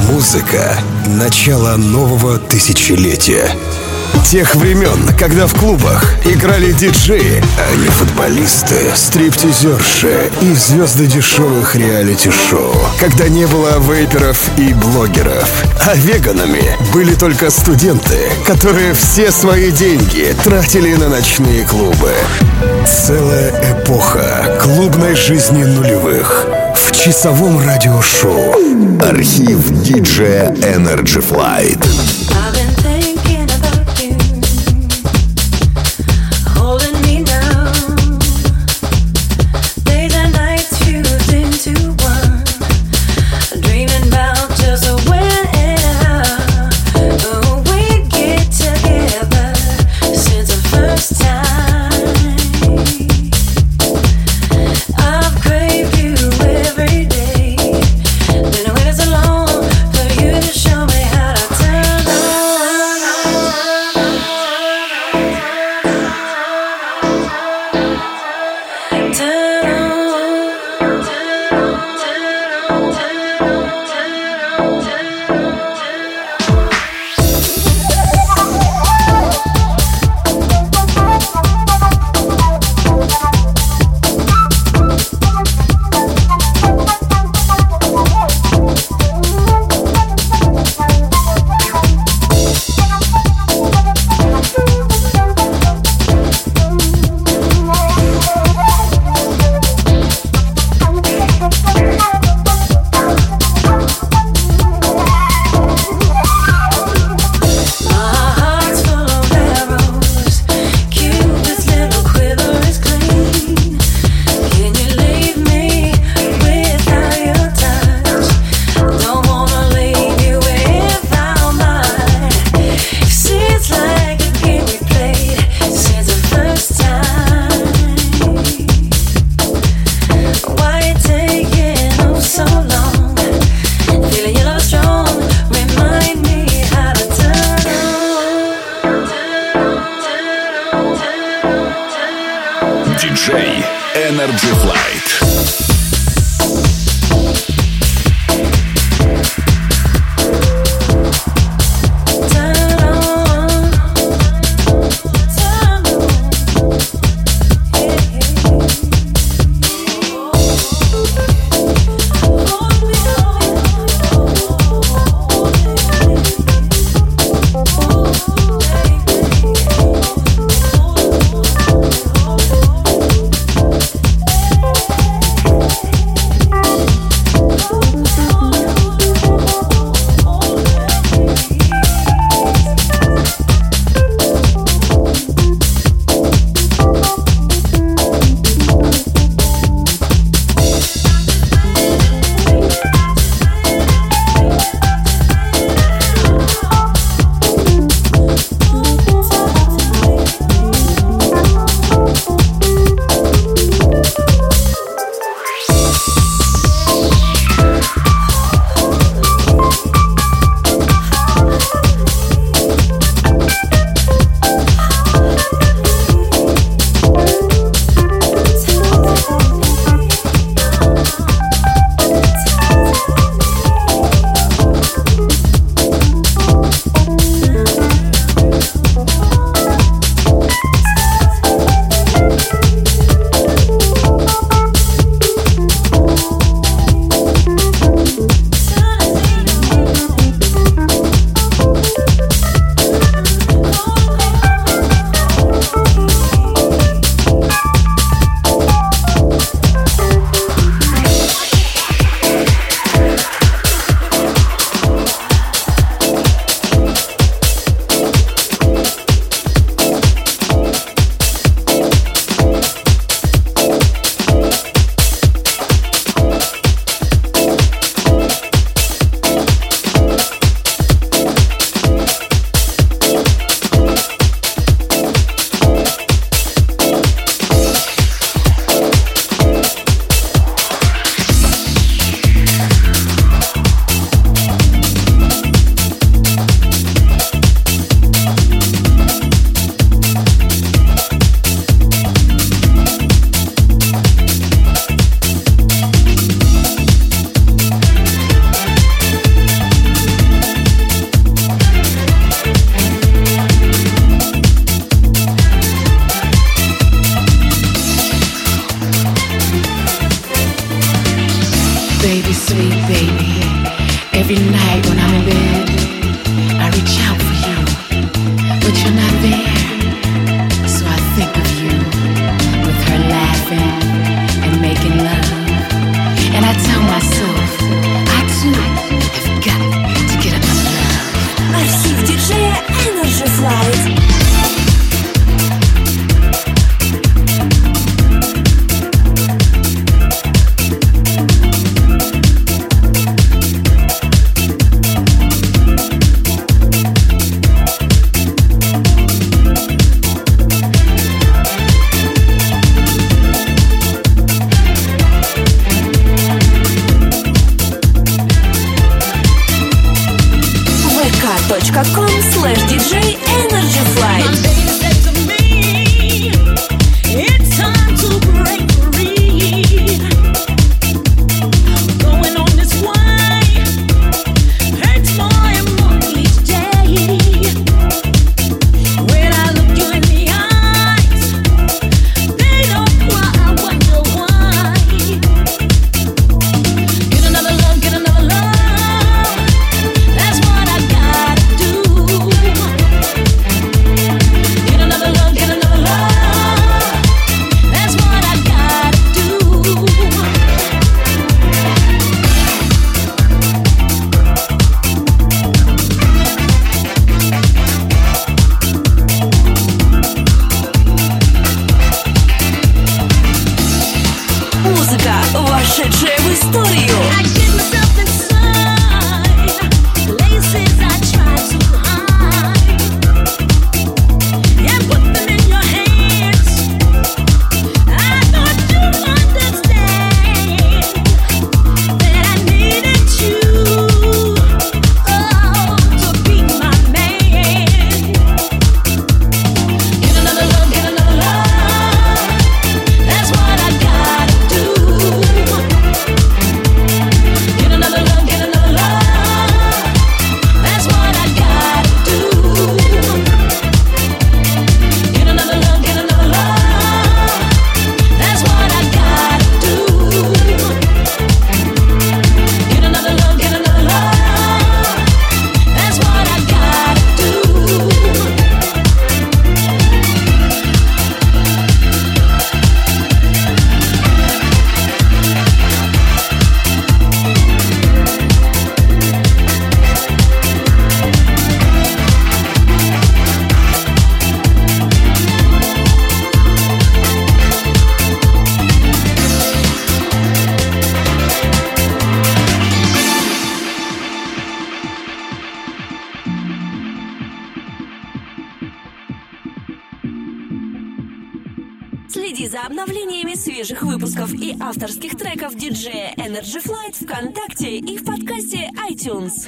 Музыка — начало нового тысячелетия. Тех времен, когда в клубах играли диджеи, а не футболисты, стриптизерши и звезды дешевых реалити-шоу. Когда не было вейперов и блогеров, а веганами были только студенты, которые все свои деньги тратили на ночные клубы. Целая эпоха клубной жизни нулевых в часовом радиошоу. Архив диджея Energy Flight. Диджей Energy Flight. baby. Every night when I'm in bed, I reach out for you, but you're not there. So I think of you, with her laughing and making love. And I tell myself, I too have got to get another love. Архив диджея Energy Flight. vk.com/DJ Energy Flight. Вошедшая в историю. Следи за обновлениями свежих выпусков и авторских треков диджея Energy Flight ВКонтакте и в подкасте iTunes.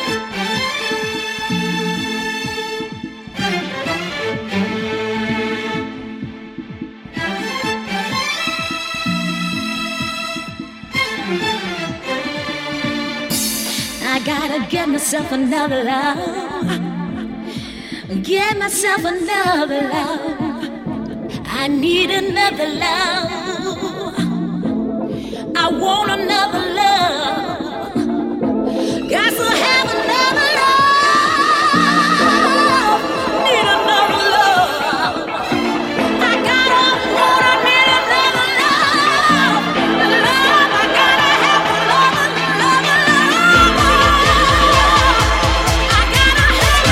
I gotta get myself another love. Get myself another love. I need another love. I want another love. Got to have another love. Need another love. I gotta want, I need another love. Love, I gotta have another love. I gotta have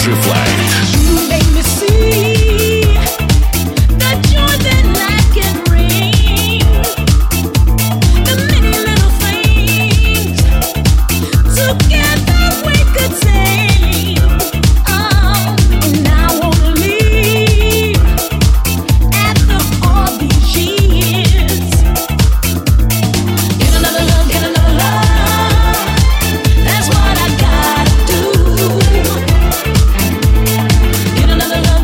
Energy Flight. You make me see the joy that life can bring. The many little things together we could sing. Oh, and I wanna leave after all these years. Get another love, get another love. That's what I gotta do. Get another love.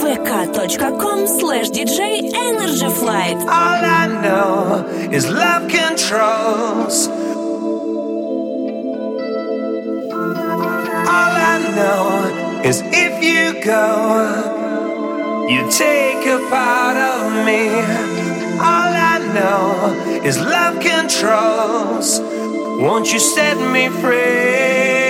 vk.com/DJ Energy Flight. All I know is love controls. All I know is if you go, you take a part of me. All I know is love controls. Won't you set me free?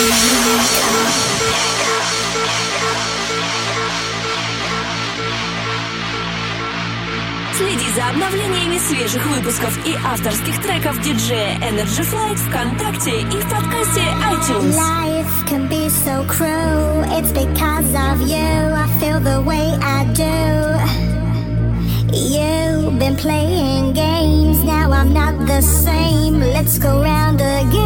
Следи за обновлениями свежих выпусков и авторских треков диджея Energy Flight ВКонтакте и в подкасте iTunes. Life can be so cruel. It's because of you I feel the way I do. You've been playing games, now I'm not the same. Let's go round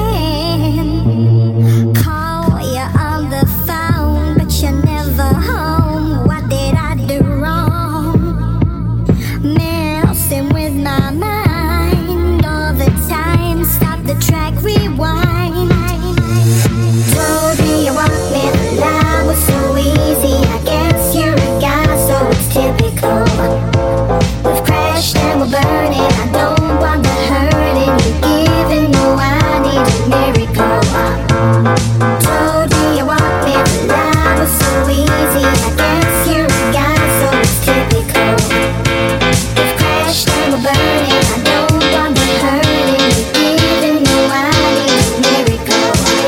again. Call you on the phone, but you're never home. What did I do wrong? Messing with my mind all the time. Stop the track, rewind. Told me you want me, the lie was so easy. I guess you're a guy, so it's typical. We've crashed and we're burning. I don't want the hurting. You're giving, no, I need a miracle. Told me you want me, the lie was so easy. I guess you're a guy, so it's typical. We've crashed and we're burning. I don't want the hurting. You're giving, no, I need a miracle.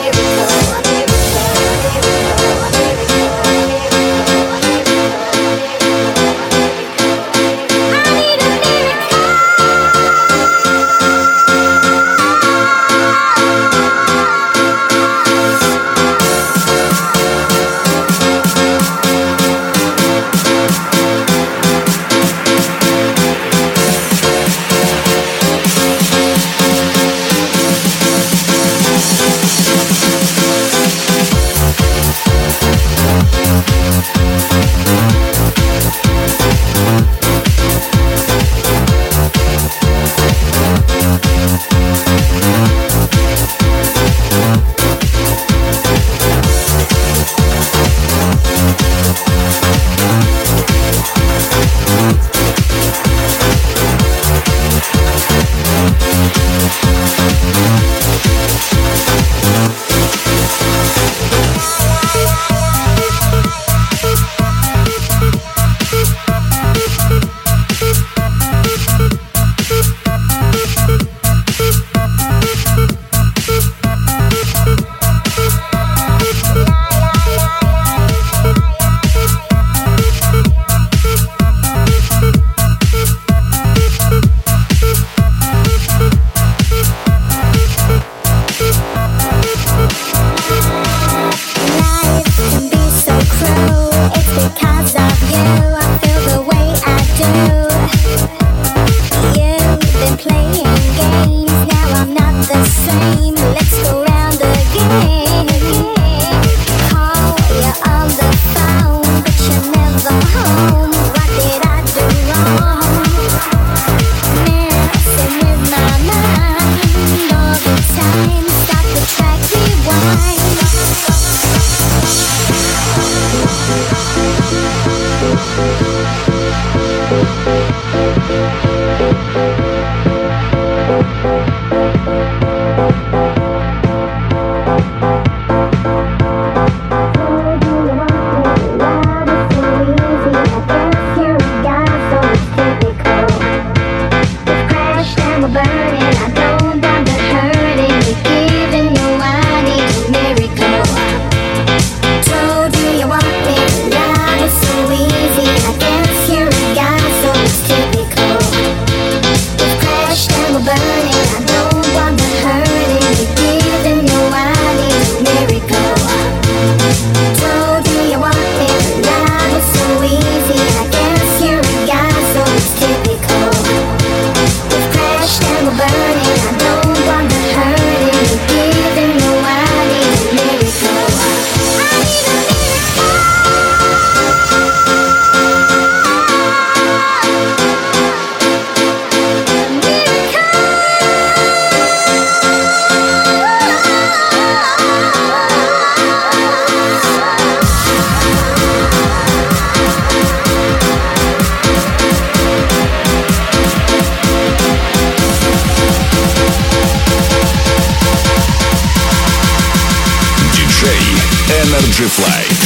Energy Flight.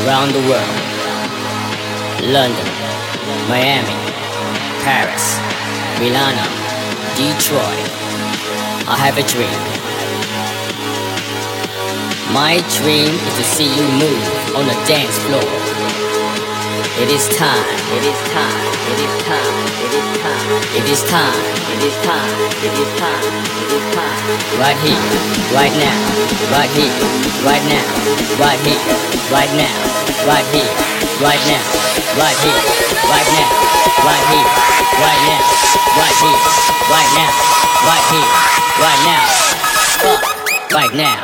around the world. London, Miami, Paris, Milano, Detroit. I have a dream. My dream is to see you move on the dance floor. It is time, it is time, it is time, it is time, it is time, it is time, it is time, it is time. Right here, right now, right here, right now, right here, right now, right here, right now, right here, right now, right here, right now, right here, right now, right here, right now, fuck, right now.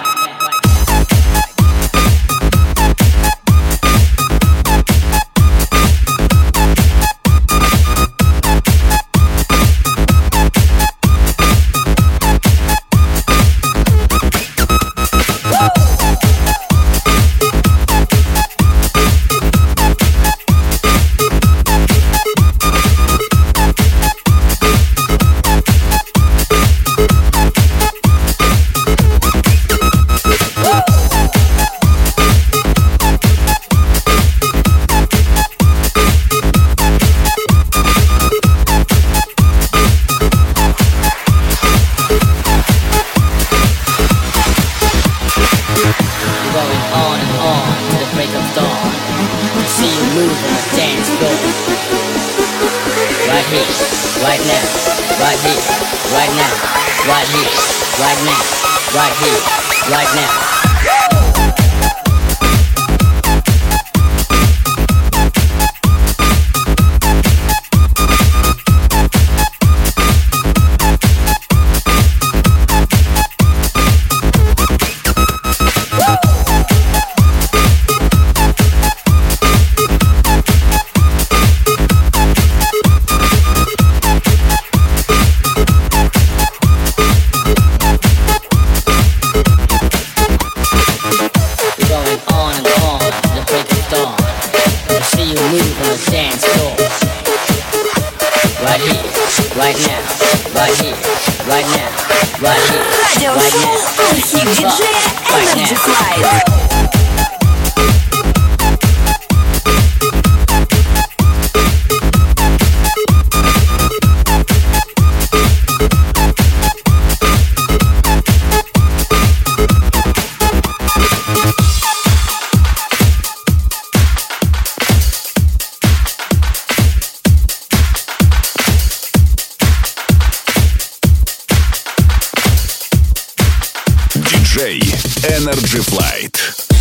Energy Flight.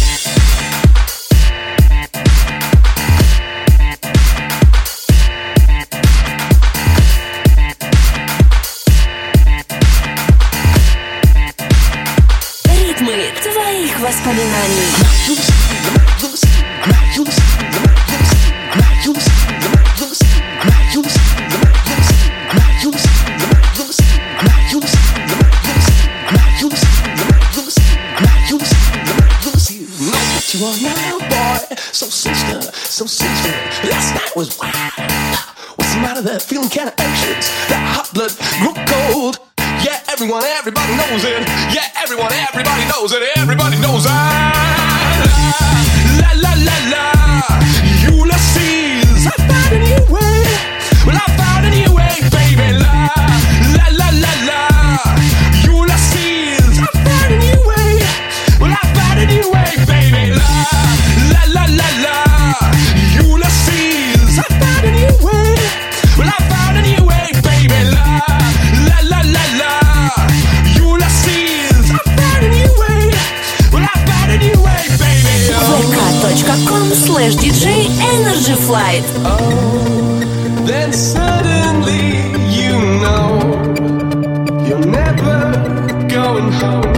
Ритмы твоих воспоминаний. You are now, boy, so sinister, so sinister. Last night was wild. What's the matter there? Feeling kinda anxious. That hot blood grew cold. Yeah, everybody knows it. Yeah, everybody knows it. Everybody knows it. La la la la. Ulysses, I found a new way. Well, I found a new way, baby. La la la la la. Ulysses, I found a new way. Well, I found a new way, baby. La la la la. Ulysses, I found a new way. Well, I found a new way, baby. La la la la. Ulysses, I found a new way. Well, I found a new way, baby. vk.com/DJ Energy Flight. Oh, then suddenly you know you're never going home.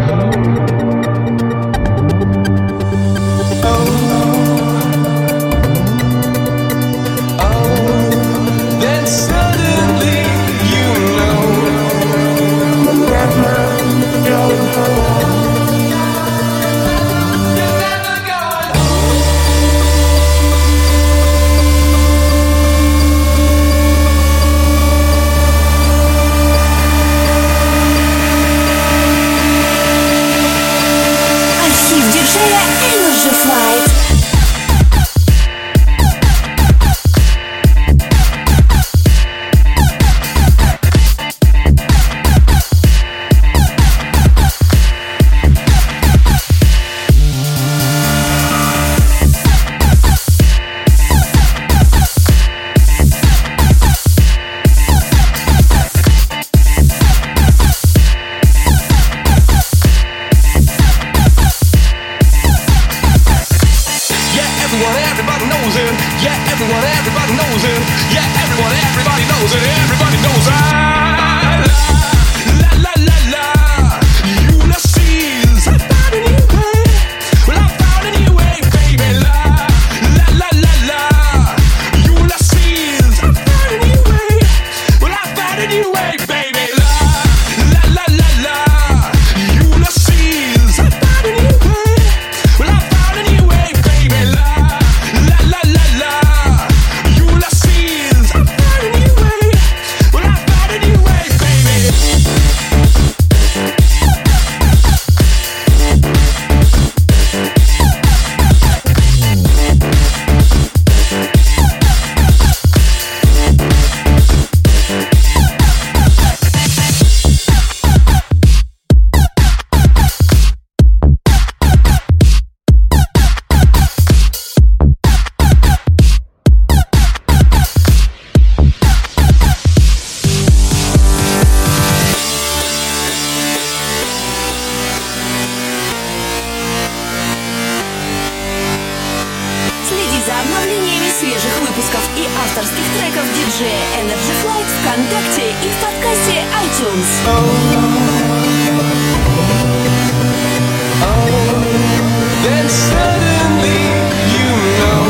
DJ Energy Flight ВКонтакте и в подкасте iTunes. Then suddenly you know.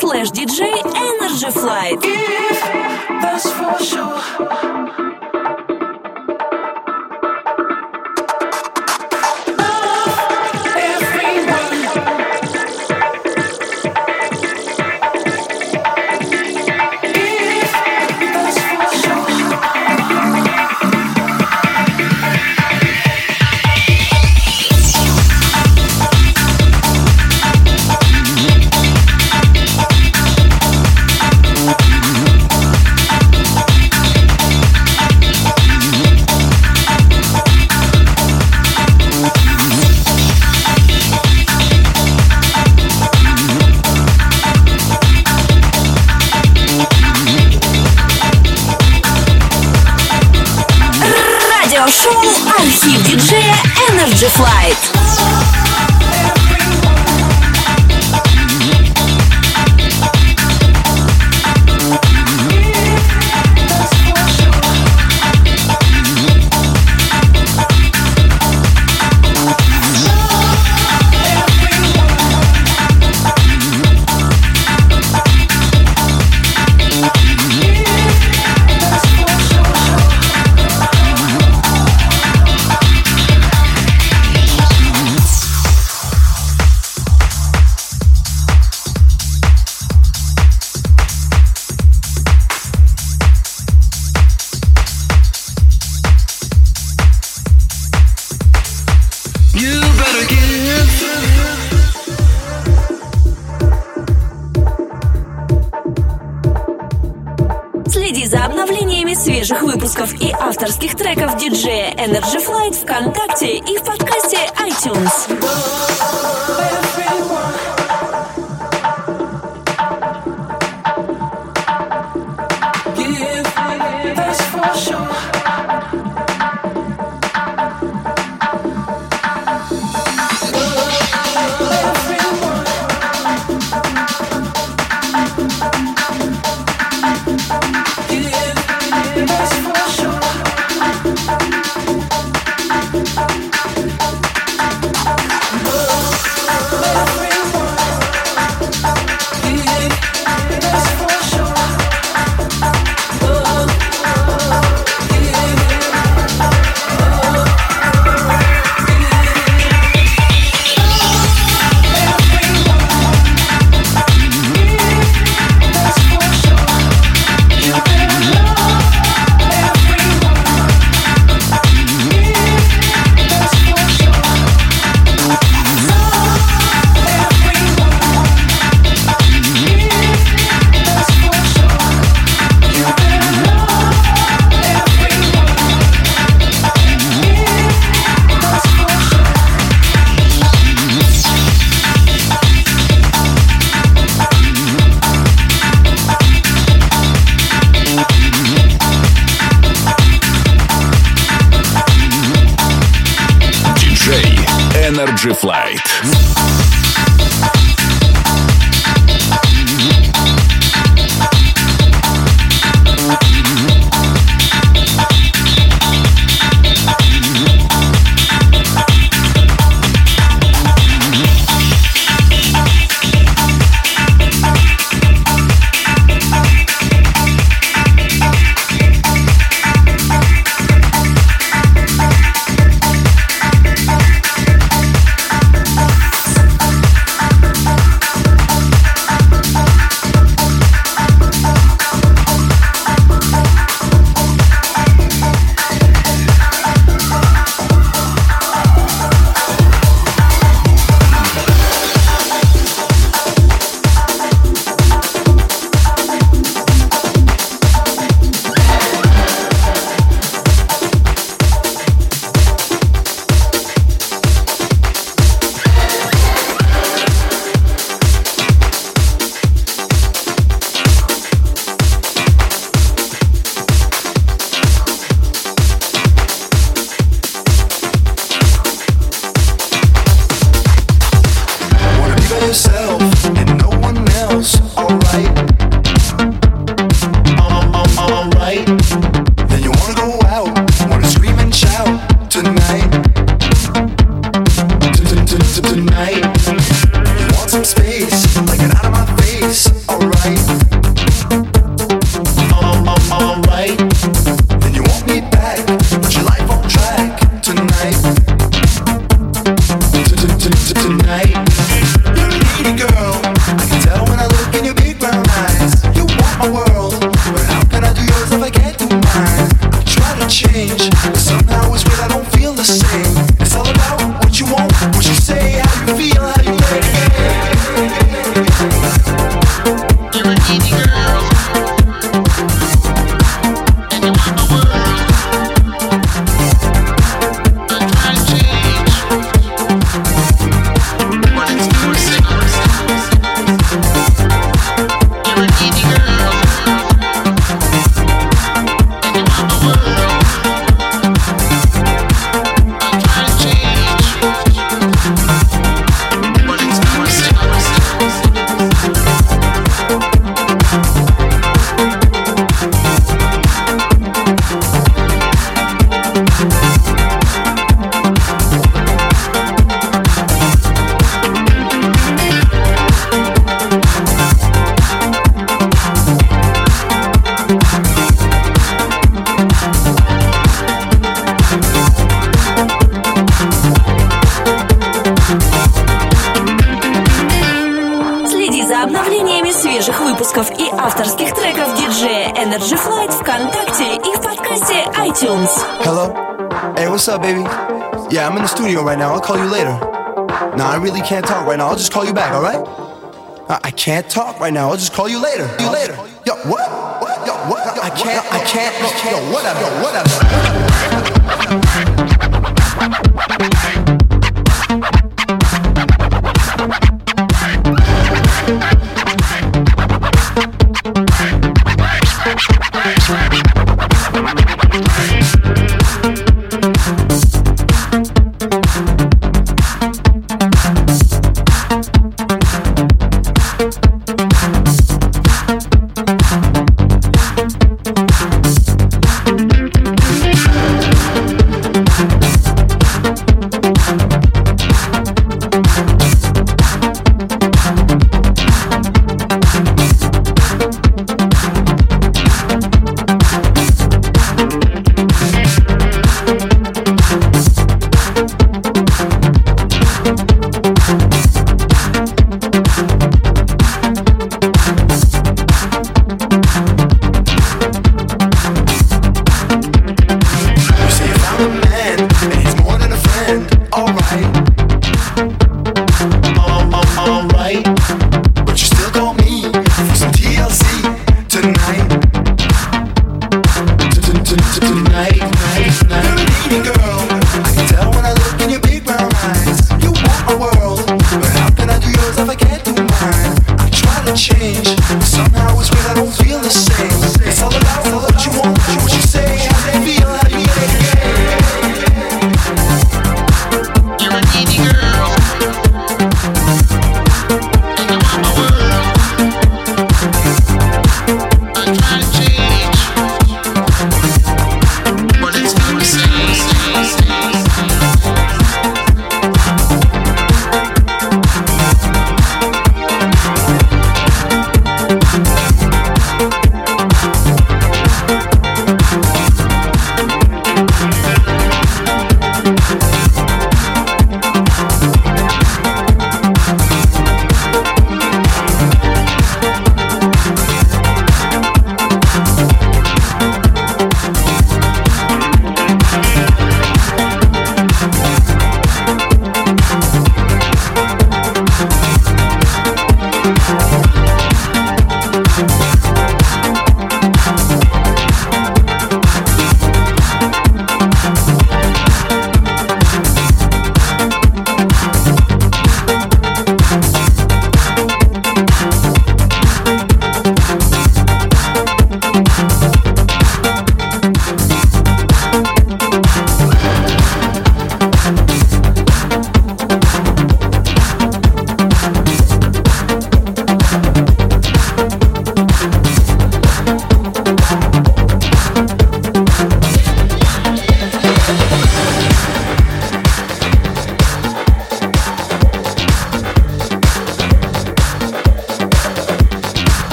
facebook.com/DJ Energy Flight. That's for sure. Шоу «Архив диджея Energy Flight». Следи за обновлениями свежих выпусков и авторских треков диджея Energy Flight ВКонтакте и в подкасте iTunes. Energy Flight. выпусков и авторских треков диджея Energy Flight ВКонтакте и в подкасте iTunes. Hello? Hey, what's up, baby? Yeah, I'm in the studio right now. I'll call you later. Nah, I really can't talk right now. I'll just call you back, alright? I can't talk right now. I'll just call you later. Yo, what? Yo, what? I can't. Yo, whatever.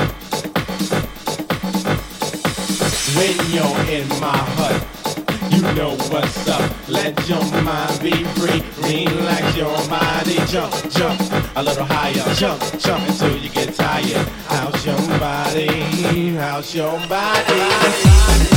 When you're in my hut, you know what's up. Let your mind be free. Relax your body. Jump, jump a little higher. Jump, jump until you get tired. How's your body? How's your body?